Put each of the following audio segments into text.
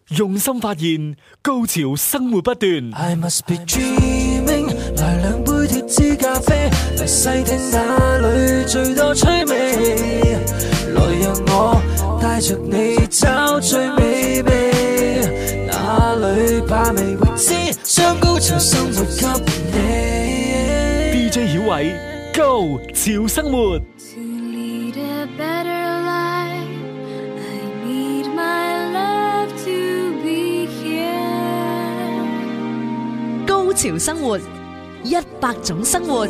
用心發現，高潮生活不斷。 I must be dreaming， 來兩杯脫脂咖啡，嚟細聽哪裏最多趣味，來讓我帶着你找最美味，哪裏把味未知，將高潮生活給你。 DJ 曉偉，高潮生活。 高潮生活，100種生活。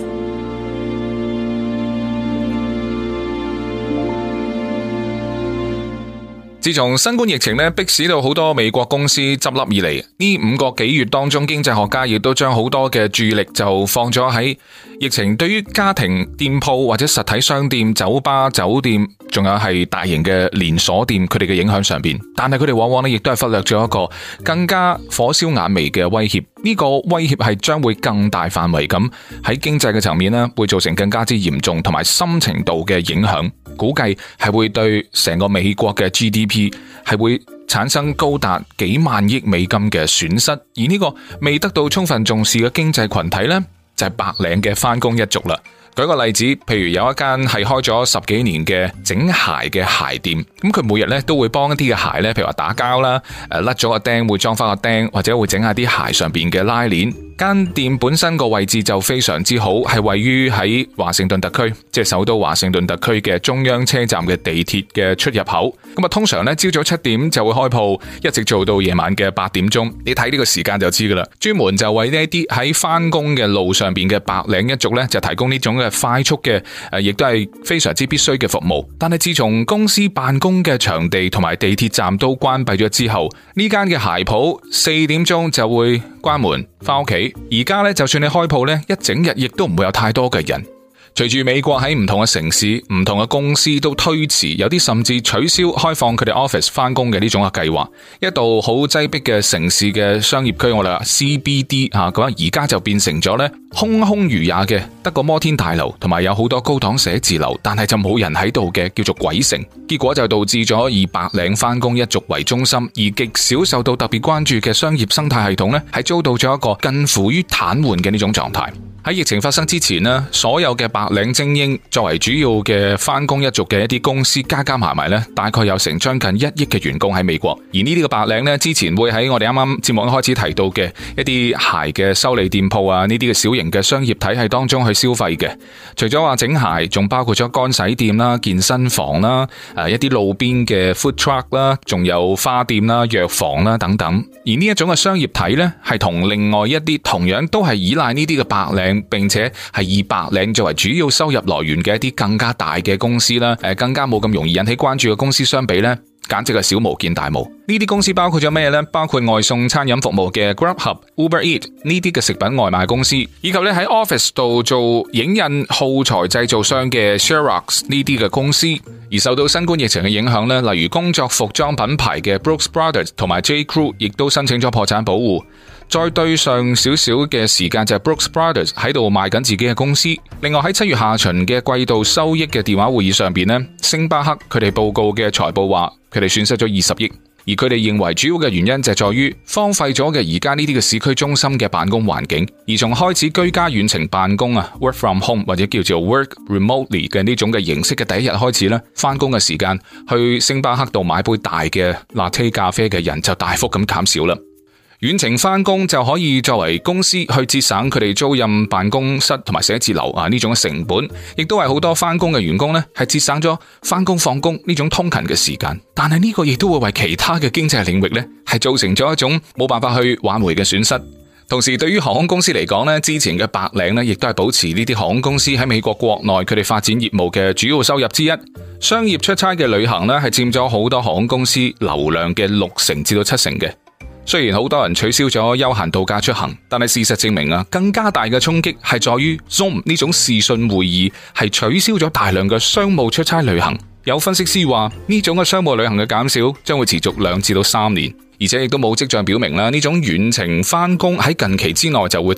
自從新冠疫情迫使到好多美國公司執笠以嚟，呢5個幾月當中，經濟學家亦都將好多嘅注意力就放咗喺疫情對於家庭店鋪或者實體商店、酒吧、酒店，仲有係大型嘅連鎖店佢哋嘅影響上邊。但係佢哋往往亦都係忽略咗一個更加火燒眼眉嘅威脅。呢個威脅係將會更大範圍咁喺經濟嘅層面呢，會造成更加之嚴重同埋深程度嘅影響。估計係會對成個美國嘅 GDP 係會產生高達幾萬億美金嘅損失，而呢個未得到充分重視嘅經濟群體呢，就係白領嘅返工一族啦。舉個例子，譬如有一間係開咗10幾年嘅整鞋嘅鞋店，咁佢每日咧都會幫一啲嘅鞋咧，譬如話打膠啦，甩咗個釘會裝翻個釘，或者會整下啲鞋上邊嘅拉鏈。間店本身個位置就非常之好，係位於喺華盛頓特區，即係首都華盛頓特區嘅中央車站嘅地鐵嘅出入口。咁啊，通常咧朝早7點就會開鋪，一直做到夜晚嘅8點鐘。你睇呢個時間就知噶啦，專門就為呢一啲喺翻工嘅路上邊嘅白領一族咧，就提供呢種嘅快速嘅亦都係非常之必須嘅服務。但係自從公司辦公嘅場地同埋地鐵站都關閉咗之後，呢間嘅鞋鋪4點鐘就會關門翻屋企。而家咧，就算你開鋪咧，一整日亦都唔會有太多嘅人。隨住美國喺唔同嘅城市、唔同嘅公司都推遲，有啲甚至取消開放佢哋 office 翻工嘅呢種嘅計劃。一度好擠迫嘅城市嘅商業區，我哋話 CBD 咁而家就變成咗咧空空如也嘅，得個摩天大樓同埋有好多高檔寫字樓，但係就冇人喺度嘅，叫做鬼城。結果就導致咗以白領翻工一族為中心，而極少受到特別關注嘅商業生態系統咧，係遭到咗一個近乎於癱瘓嘅呢種狀態。喺疫情發生之前呢，所有嘅白領精英作為主要嘅返工一族嘅一啲公司加埋埋呢，大概有成將近1億嘅員工喺美國。而呢啲嘅白領呢，之前會喺我哋啱啱節目一開始提到嘅一啲鞋嘅修理店鋪啊，呢啲嘅小型嘅商業體系當中去消費嘅。除咗話整鞋，仲包括咗乾洗店啦、健身房啦、一啲路邊嘅 food truck 啦，仲有花店啦、藥房啦等等。而呢一種嘅商業體呢，係同另外一啲同樣都係依賴呢啲嘅白領，並且係以白領作為主要收入來源嘅一啲更加大嘅公司啦，更加冇咁容易引起關注嘅公司相比呢，簡直係小巫見大巫。呢啲公司包括咗咩呢？包括外送餐飲服務嘅 Grubhub、Uber Eats 呢啲嘅食品外賣公司，以及咧喺 office 度做影印耗材製造商嘅 Xerox 呢啲嘅公司。而受到新冠疫情嘅影響呢，例如工作服裝品牌嘅 Brooks Brothers 同埋 J. Crew 亦都申請咗破產保護。再對上少少嘅時間就係 Brooks Brothers 喺度賣緊自己嘅公司。另外喺7月下旬嘅季度收益嘅電話會議上邊呢，星巴克佢哋報告嘅財報話佢哋損失咗20億，而佢哋認為主要嘅原因就係在於荒廢咗嘅而家呢啲嘅市區中心嘅辦公環境，而從開始居家遠程辦公啊 work from home 或者叫做 work remotely 嘅呢種嘅形式嘅第一日開始咧，翻工嘅時間去星巴克度買杯大嘅 latte 咖啡嘅人就大幅咁減少啦。遠程翻工就可以作為公司去節省佢哋租賃辦公室同埋寫字樓呢種成本，亦都係好多翻工嘅員工呢係節省咗翻工放工呢種通勤嘅時間。但係呢個亦都會為其他嘅經濟領域呢係造成咗一種冇辦法去挽回嘅損失。同時對於航空公司嚟講呢，之前嘅白領呢亦都係保持呢啲航空公司喺美國國內佢哋發展業務嘅主要收入之一。商業出差嘅旅行呢係佔咗好多航空公司流量嘅60%至到70%嘅。雖然好多人取消咗休閒度假出行，但係事實證明更加大嘅衝擊係在於 Zoom 呢種視訊會議係取消咗大量嘅商務出差旅行。有分析師話呢種嘅商務旅行嘅減少將會持續2至到3年，而且亦都冇跡象表明呢種遠程返工喺近期之內就會停。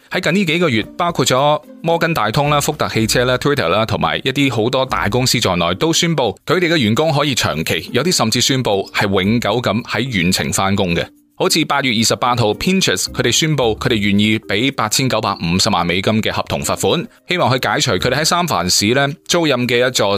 喺近呢幾個月，包括咗摩根大通啦、福特汽車啦、Twitter 啦，同埋一啲好多大公司在內，都宣布佢哋嘅員工可以長期，有啲甚至宣布係永久咁喺遠程翻工嘅。好似8月28號 Pinterest 佢哋宣布佢哋願意俾$8950萬嘅合同罰款，希望去解除佢哋喺三藩市咧租賃嘅一座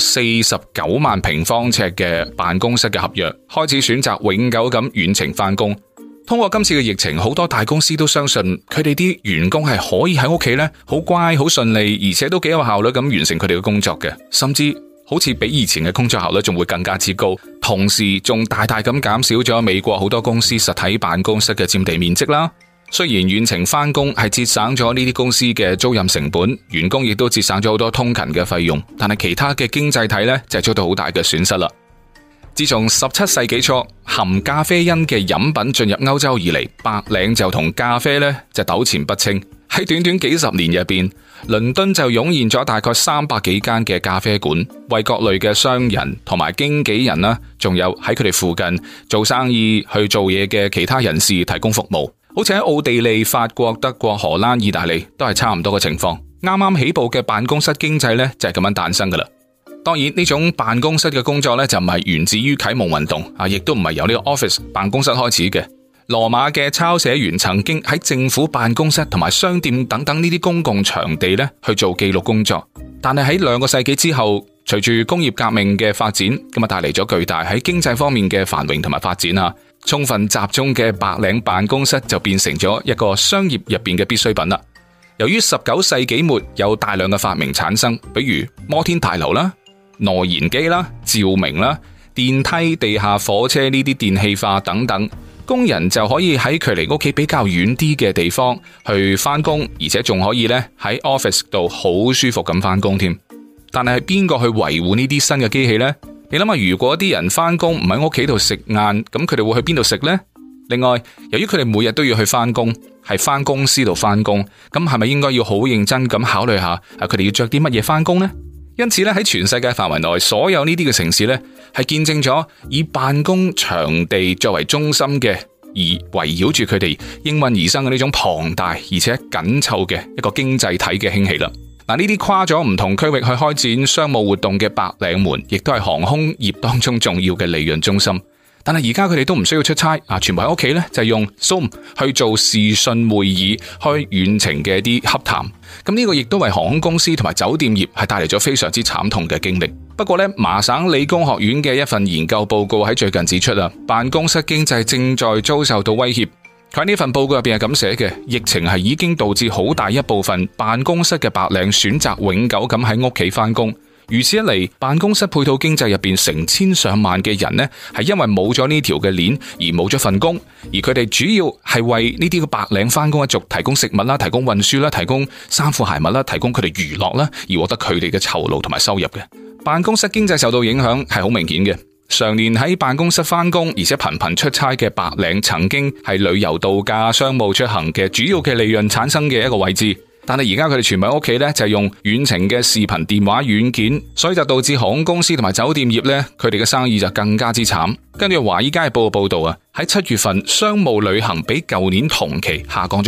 49萬平方尺嘅辦公室嘅合約，開始選擇永久咁遠程翻工。通過今次嘅疫情，好多大公司都相信佢哋啲員工係可以喺屋企咧好乖、好順利，而且都幾有效率咁完成佢哋嘅工作嘅，甚至好似比以前嘅工作效率仲會更加之高，同時仲大大咁減少咗美國好多公司實體辦公室嘅佔地面積啦。雖然遠程翻工係節省咗呢啲公司嘅租賃成本，員工亦都節省咗好多通勤嘅費用，但係其他嘅經濟體呢，就遭到好大嘅損失啦。自從17世紀初含咖啡因嘅飲品進入歐洲以嚟，白領就同咖啡呢就糾纏不清。喺短短幾十年入邊，倫敦就湧現咗大概300幾間嘅咖啡館，為各類嘅商人同埋經紀人啦，仲有喺佢哋附近做生意去做嘢嘅其他人士提供服務。好似喺奧地利、法國、德國、荷蘭、意大利都係差唔多嘅情況。啱啱起步嘅辦公室經濟呢，就係咁樣誕生噶啦。當然呢種辦公室嘅工作呢，就唔係源自於啟蒙運動啊，亦都唔係由呢個 office 辦公室開始嘅。羅馬嘅抄寫員曾經喺政府辦公室同埋商店等等呢啲公共場地呢去做記錄工作，但係喺2個世紀之後，隨住工業革命嘅發展，咁啊帶嚟咗巨大喺經濟方面嘅繁榮同埋發展啊，充分集中嘅白領辦公室就變成咗一個商業入邊嘅必需品啦。由於19世紀末有大量嘅發明產生，比如摩天大樓啦、內燃機啦、照明啦、電梯、地下火車呢啲電氣化等等，工人就可以喺距離屋企比較遠啲嘅地方去翻工，而且仲可以咧喺 office 度好舒服咁翻工添。但係邊個去維護呢啲新嘅機器呢？你諗下，如果啲人翻工唔喺屋企度食晏，咁佢哋會去邊度食呢？另外，由於佢哋每日都要去翻工，係翻公司度翻工，咁係咪應該要好認真咁考慮下佢哋要着啲乜嘢翻工呢？因此咧，喺全世界範圍內，所有呢啲嘅城市咧，係見證咗以辦公場地作為中心嘅，而圍繞住佢哋應運而生嘅呢種龐大而且緊湊嘅一個經濟體嘅興起啦。嗱，呢啲跨咗唔同區域去開展商務活動嘅白領們，亦都係航空業當中重要嘅利潤中心。但係而家佢哋都唔需要出差啊，全部喺屋企咧就用 Zoom 去做視訊會議，開遠程嘅啲洽談。咁呢個亦都為航空公司同埋酒店業係帶嚟咗非常之慘痛嘅經歷。不過咧，麻省理工學院嘅一份研究報告喺最近指出啊，辦公室經濟正在遭受到威脅。佢喺呢份報告入邊係咁寫嘅，疫情係已經導致好大一部分辦公室嘅白領選擇永久咁喺屋企翻工。如此一嚟，辦公室配套經濟入邊成千上萬嘅人呢，係因為冇咗呢條嘅鏈而冇咗份工，而佢哋主要係為呢啲嘅白領翻工一族提供食物啦、提供運輸啦、提供衫褲鞋襪啦、提供佢哋娛樂啦，而獲得佢哋嘅酬勞同埋收入嘅。辦公室經濟受到影響係好明顯嘅。常年喺辦公室翻工，而且頻頻出差嘅白領，曾經係旅遊度假、商務出行嘅主要嘅利潤產生嘅一個位置。但係而家佢哋全部喺屋企咧，就係用遠程嘅視頻電話軟件，所以就導致航空公司同埋酒店業咧，佢哋嘅生意就更加之慘。根據華爾街報嘅報道啊，喺7月份商務旅行比舊年同期下降咗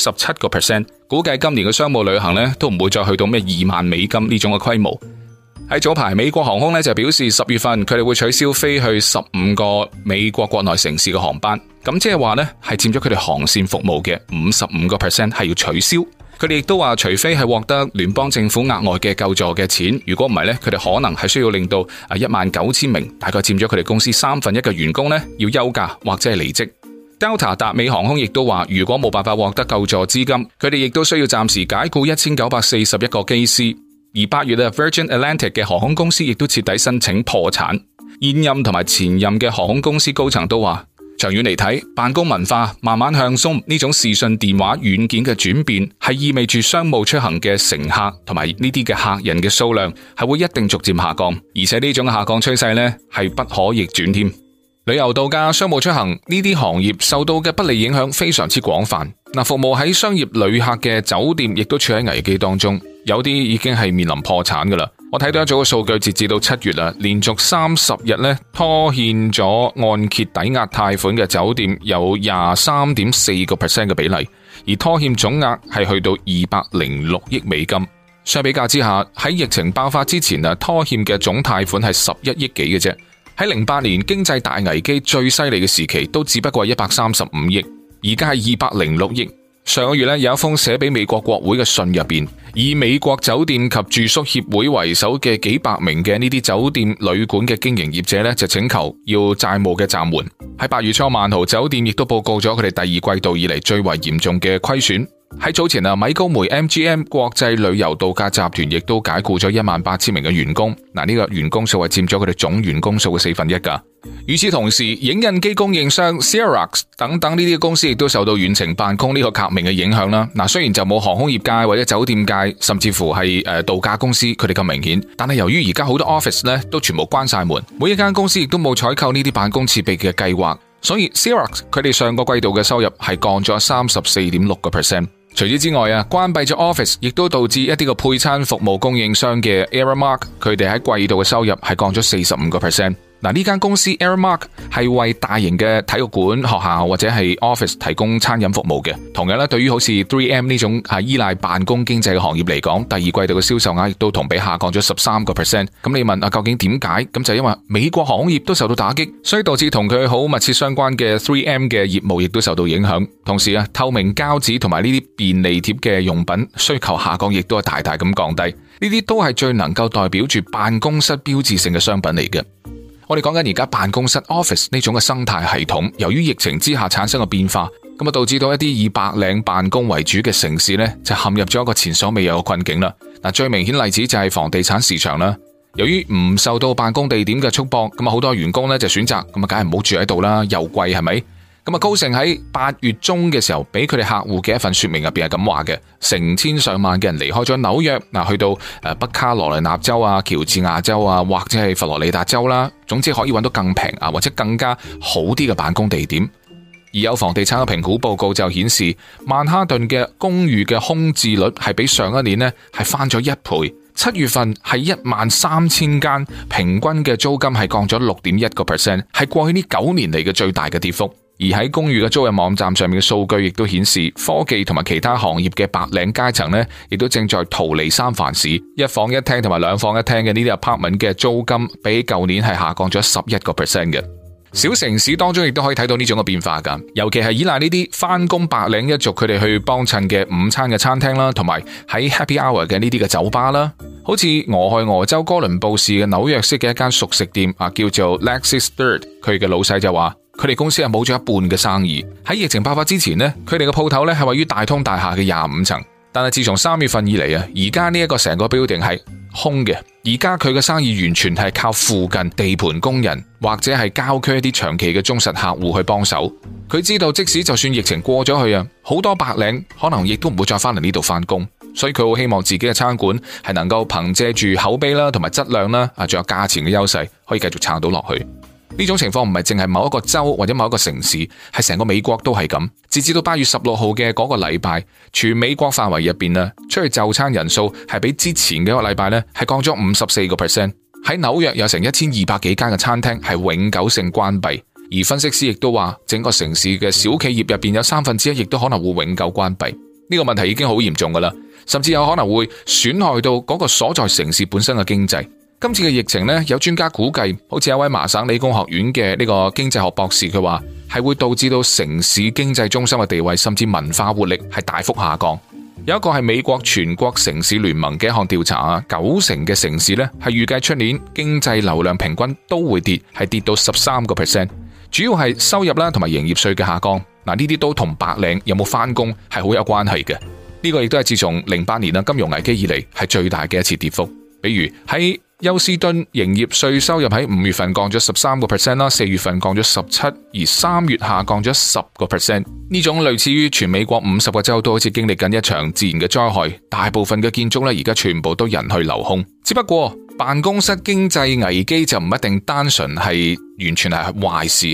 97%，估計今年嘅商務旅行咧都唔會再去到咩$2萬呢種嘅規模。喺早排，美國航空咧就表示10月份佢哋會取消飛去15個美國國內城市嘅航班，咁即係話咧係佔咗佢哋航線服務嘅55%係要取消。佢哋亦都話，除非係獲得聯邦政府額外嘅救助嘅錢，如果唔係咧，佢哋可能係需要令到19000名，大概佔咗佢哋公司1/3嘅員工咧要休假或者係離職。Delta 達美航空亦都話，如果冇辦法獲得救助資金，佢哋亦都需要暫時解雇1941個機師。而8月嘅 Virgin Atlantic 嘅航空公司亦都徹底申請破產。現任同埋前任嘅航空公司高層都話，長遠嚟睇，辦公文化慢慢向鬆，呢種視訊電話軟件嘅轉變，係意味住商務出行嘅乘客同埋呢啲嘅客人嘅數量係會一定逐漸下降，而且呢種下降趨勢呢係不可逆轉添。旅遊度假、商務出行呢啲行業受到嘅不利影響非常之廣泛。服務喺商業旅客嘅酒店亦都處喺危機當中，有啲已經係面臨破產噶啦。 我睇到一組嘅數據，截至到7月啦，連續30日咧拖欠咗按揭抵押貸款嘅酒店有 23.4% 嘅比例，而拖欠總額係去到206億美金。相比較之下，喺疫情爆發之前拖欠嘅總貸款係11億幾嘅啫。喺08年經濟大危機最犀利嘅時期，都只不過係135億，而家係206億。上個月有一封寫俾美國國會嘅信入邊，以美國酒店及住宿協會為首嘅幾百名嘅呢啲酒店旅館嘅經營業者就請求要債務嘅暫緩。喺8月初，萬豪酒店亦都報告咗佢哋第二季度以嚟最為嚴重嘅虧損。喺早前米高梅 MGM 國際旅遊度假集團亦都解雇咗18000名嘅員工。呢個員工數係佔咗佢哋總員工數嘅1/4噶。與此同時，影印機供應商 Xerox 等等呢啲公司亦都受到遠程辦公呢個革命嘅影響啦。雖然就冇航空業界或者酒店界，甚至乎係度假公司佢哋咁明顯，但係由於而家好多 office 都全部關晒門，每一間公司亦都冇採購呢啲辦公設備嘅計劃，所以 Xerox 佢哋上個季度嘅收入係降咗 34.6%。除此之外關閉咗 Office 亦都導致一啲個配餐服務供應商嘅 Aramark 佢哋喺季度嘅收入係降咗 45%。呢間公司 Aramark 係為大型嘅體育館、學校或者係 office 提供餐飲服務嘅。同樣對於好似 3M 呢種係依賴辦公經濟嘅行業嚟講，第二季度嘅銷售額亦都同比下降咗 13%。咁你問究竟點解？咁就因為美國航空業都受到打擊，所以導致同佢好密切相關嘅 3M 嘅業務亦都受到影響。同時透明膠紙同埋呢啲便利貼嘅用品需求下降，亦都係大大咁降低。呢啲都係最能夠代表住辦公室標誌性嘅商品嚟嘅。我哋講緊而家辦公室 office 呢種嘅生態系統，由於疫情之下產生嘅變化，咁導致到一啲以白領辦公為主嘅城市就陷入咗一個前所未有嘅困境啦。最明顯例子就係房地產市場啦。由於唔受到辦公地點嘅束縛，咁好多員工就選擇咁梗係唔好住喺度啦，又貴係咪？咁高盛喺8月中嘅時候，俾佢哋客戶嘅一份說明入邊係咁話嘅：成千上萬嘅人離開咗紐約，去到北卡羅來納州啊、喬治亞州啊，或者係佛羅里達州啦，總之可以揾到更平或者更加好啲嘅辦公地點。而有房地產嘅評估報告就顯示，曼哈頓嘅公寓嘅空置率係比上一年係翻咗1倍。7月份係13000間，平均嘅租金係降咗 6.1%， 係過去呢9年嚟嘅最大嘅跌幅。而喺公寓嘅租賃網站上面嘅數據亦都顯示，科技同埋其他行業嘅白領階層亦都正在逃離三藩市。1房1廳同埋2房1廳嘅呢啲 apartment 嘅租金比舊年係下降咗 11% 嘅。小城市當中亦都可以睇到呢種嘅變化噶，尤其係依賴呢啲返工白領一族佢哋去幫襯嘅午餐嘅餐廳啦，同埋喺 happy hour 嘅呢啲嘅酒吧啦。好似俄亥俄州哥倫布市嘅紐約式嘅一間熟食店叫做 Lexus Third， 佢嘅老細就話佢哋公司係冇咗一半嘅生意。喺疫情爆發之前佢哋嘅鋪頭係位於大通大廈嘅25層，但係自從3月份以嚟而家呢一個成個 building 係空嘅。而家佢嘅生意完全係靠附近地盤工人或者係郊區一啲長期嘅忠實客戶去幫手。佢知道即使就算疫情過咗去好多白領可能亦都唔會再翻嚟呢度翻工，所以佢好希望自己嘅餐館係能夠憑借住口碑啦，同埋質量啦，仲有價錢嘅優勢，可以繼續撐到落去。呢種情況唔係淨係某一個州或者某一個城市，係成個美國都係咁。截至到8月16號嘅嗰個禮拜，全美國範圍入邊出去就餐人數係比之前嘅一個禮拜係降咗 54%。喺紐約有成1200幾間嘅餐廳係永久性關閉，而分析師亦都話，整個城市嘅小企業入邊有1/3亦都可能會永久關閉。呢個問題已經好嚴重噶啦，甚至有可能會損害到嗰個所在城市本身嘅經濟。今次嘅疫情有專家估計，好似一位麻省理工學院嘅呢個經濟學博士，佢話係會導致到城市經濟中心嘅地位甚至文化活力係大幅下降。有一個係美國全國城市聯盟嘅一項調查，90%嘅城市係預計出年經濟流量平均都會跌，係跌到 13%。主要係收入啦同埋營業稅嘅下降。呢啲都同白領有冇返工係好有關係嘅。呢個亦都係自從08年金融危機以嚟係最大嘅一次跌幅。比如喺休斯敦營業稅收入喺5月份降咗 13% 啦，4月份降咗 17%， 而3月下降咗 10%。呢種類似於全美國50個州都好似經歷緊一場自然嘅災害，大部分嘅建築而家全部都人去樓空。只不過辦公室經濟危機就唔一定單純係完全係壞事吓。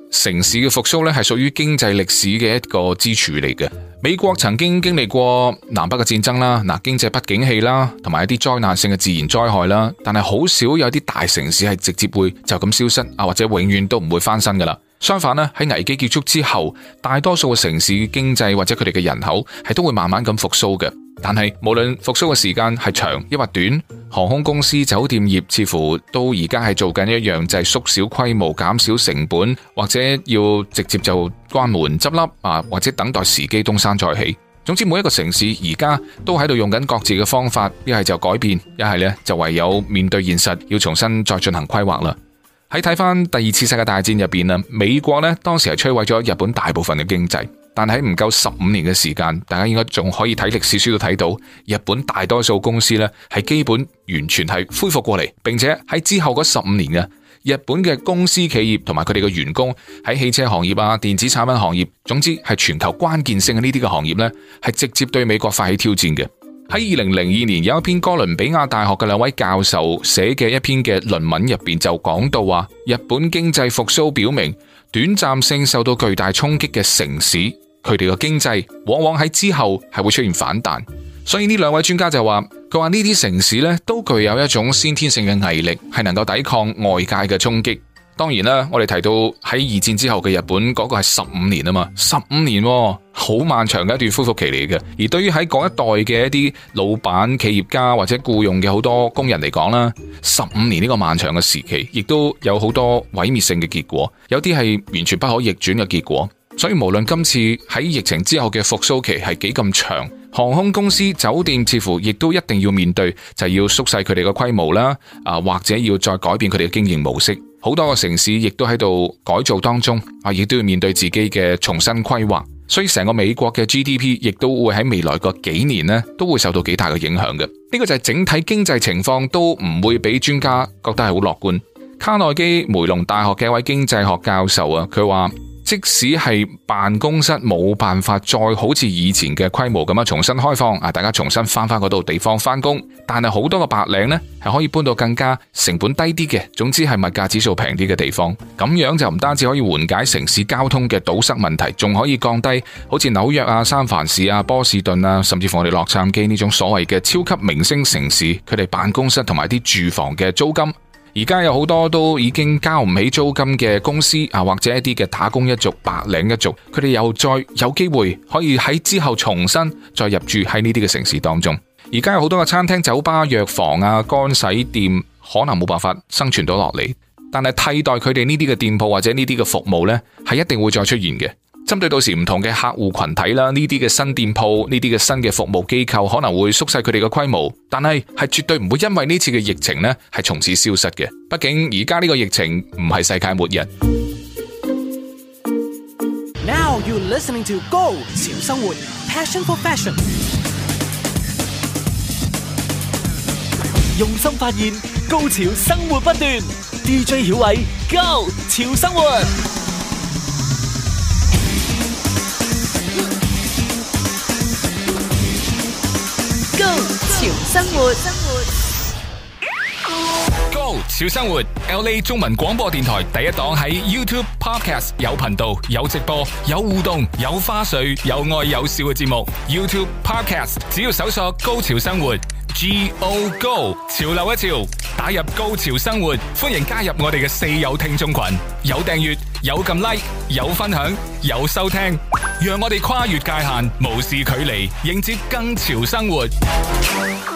城市嘅復甦咧係屬於經濟歷史嘅一個支柱嚟嘅。美國曾經經歷過南北嘅戰爭啦，經濟不景氣啦，同埋一啲災難性嘅自然災害啦，但係好少有啲大城市係直接會就咁消失或者永遠都唔會翻身噶啦。相反咧，喺危機結束之後，大多數嘅城市經濟或者佢哋嘅人口係都會慢慢咁復甦嘅。但係無論復甦嘅時間係長抑或短，航空公司、酒店業似乎都而家係做緊一樣，就係縮小規模、減少成本，或者要直接就關門執笠或者等待時機東山再起。總之每一個城市而家都喺度用緊各自嘅方法，一係就改變，一係呢就唯有面對現實，要重新再進行規劃啦。喺睇翻第二次世界大戰入邊，美國呢當時係摧毀咗日本大部分嘅經濟。但喺唔夠15年嘅時間，大家應該仲可以睇歷史書都睇到，日本大多數公司呢係基本完全係恢復過嚟，並且喺之後嗰15年嘅日本嘅公司企業同埋佢哋嘅員工喺汽車行業電子產品行業，總之係全球關鍵性嘅呢啲嘅行業呢，係直接對美國發起挑戰嘅。喺2002年有一篇哥倫比亞大學嘅2位教授寫嘅一篇嘅論文入邊就講到話，日本經濟復甦表明短暫性受到巨大衝擊嘅城市，佢哋嘅經濟往往喺之後係會出現反彈，所以呢2位專家就話，佢話呢啲城市呢都具有一種先天性嘅毅力，係能夠抵抗外界嘅衝擊。當然啦，我哋提到喺二戰之後嘅日本嗰個係15年啊嘛，15年好漫長嘅一段恢復期嚟嘅。而對於喺嗰一代嘅一啲老闆、企業家或者僱用嘅好多工人嚟講啦，15年呢個漫長嘅時期，亦都有好多毀滅性嘅結果，有啲係完全不可逆轉嘅結果。所以無論今次喺疫情之後嘅復甦期係幾咁長，航空公司、酒店似乎亦都一定要面對，就係要縮細佢哋嘅規模啦，或者要再改變佢哋嘅經營模式。好多個城市亦都喺度改造當中，亦都要面對自己嘅重新規劃。所以成個美國嘅 GDP 亦都會喺未來個幾年呢都會受到幾大嘅影響嘅。呢個就係整體經濟情況都唔會俾專家覺得係好樂觀。卡內基梅隆大學嘅一位經濟學教授佢話，即使係辦公室冇辦法再好似以前嘅規模咁樣重新開放，大家重新翻嗰度地方翻工，但係好多個白領呢係可以搬到更加成本低啲嘅，總之係物價指數平啲嘅地方。咁樣就唔單止可以緩解城市交通嘅堵塞問題，仲可以降低好似紐約三藩市波士頓甚至乎我哋洛杉磯呢種所謂嘅超級明星城市，佢哋辦公室同埋啲住房嘅租金。而家有好多都已經交唔起租金嘅公司或者一啲嘅打工一族、白領一族，佢哋又再有機會可以喺之後重新再入住喺呢啲嘅城市當中。而家有好多嘅餐廳、酒吧、藥房乾洗店可能冇辦法生存到落嚟，但係替代佢哋呢啲嘅店鋪或者呢啲嘅服務呢，係一定會再出現嘅。針對到時唔同嘅客戶群體啦，呢啲嘅新店鋪、呢啲嘅新嘅服務機構可能會縮細佢哋嘅規模，但係絕對唔會因為呢次嘅疫情呢係從此消失嘅。畢竟而家呢個疫情唔係世界末日。 Now you're listening to Go 潮生活 Passion for Fashion， 用心發現，高潮生活不斷。DJ 曉偉 Go 潮生活。 潮生活 Go 潮生活 LA 中文廣播電台第一檔，喺 YouTube Podcast 有頻道、有直播、有互動、有花絮、有愛有笑嘅節目。YouTube Podcast 只要搜索高潮生活 Go Go 潮流一潮，打入高潮生活，歡迎加入我哋嘅四友聽眾群，有訂閱、有撳 like、有分享、有收聽，讓我哋跨越界限，無視距離，迎接更潮生活。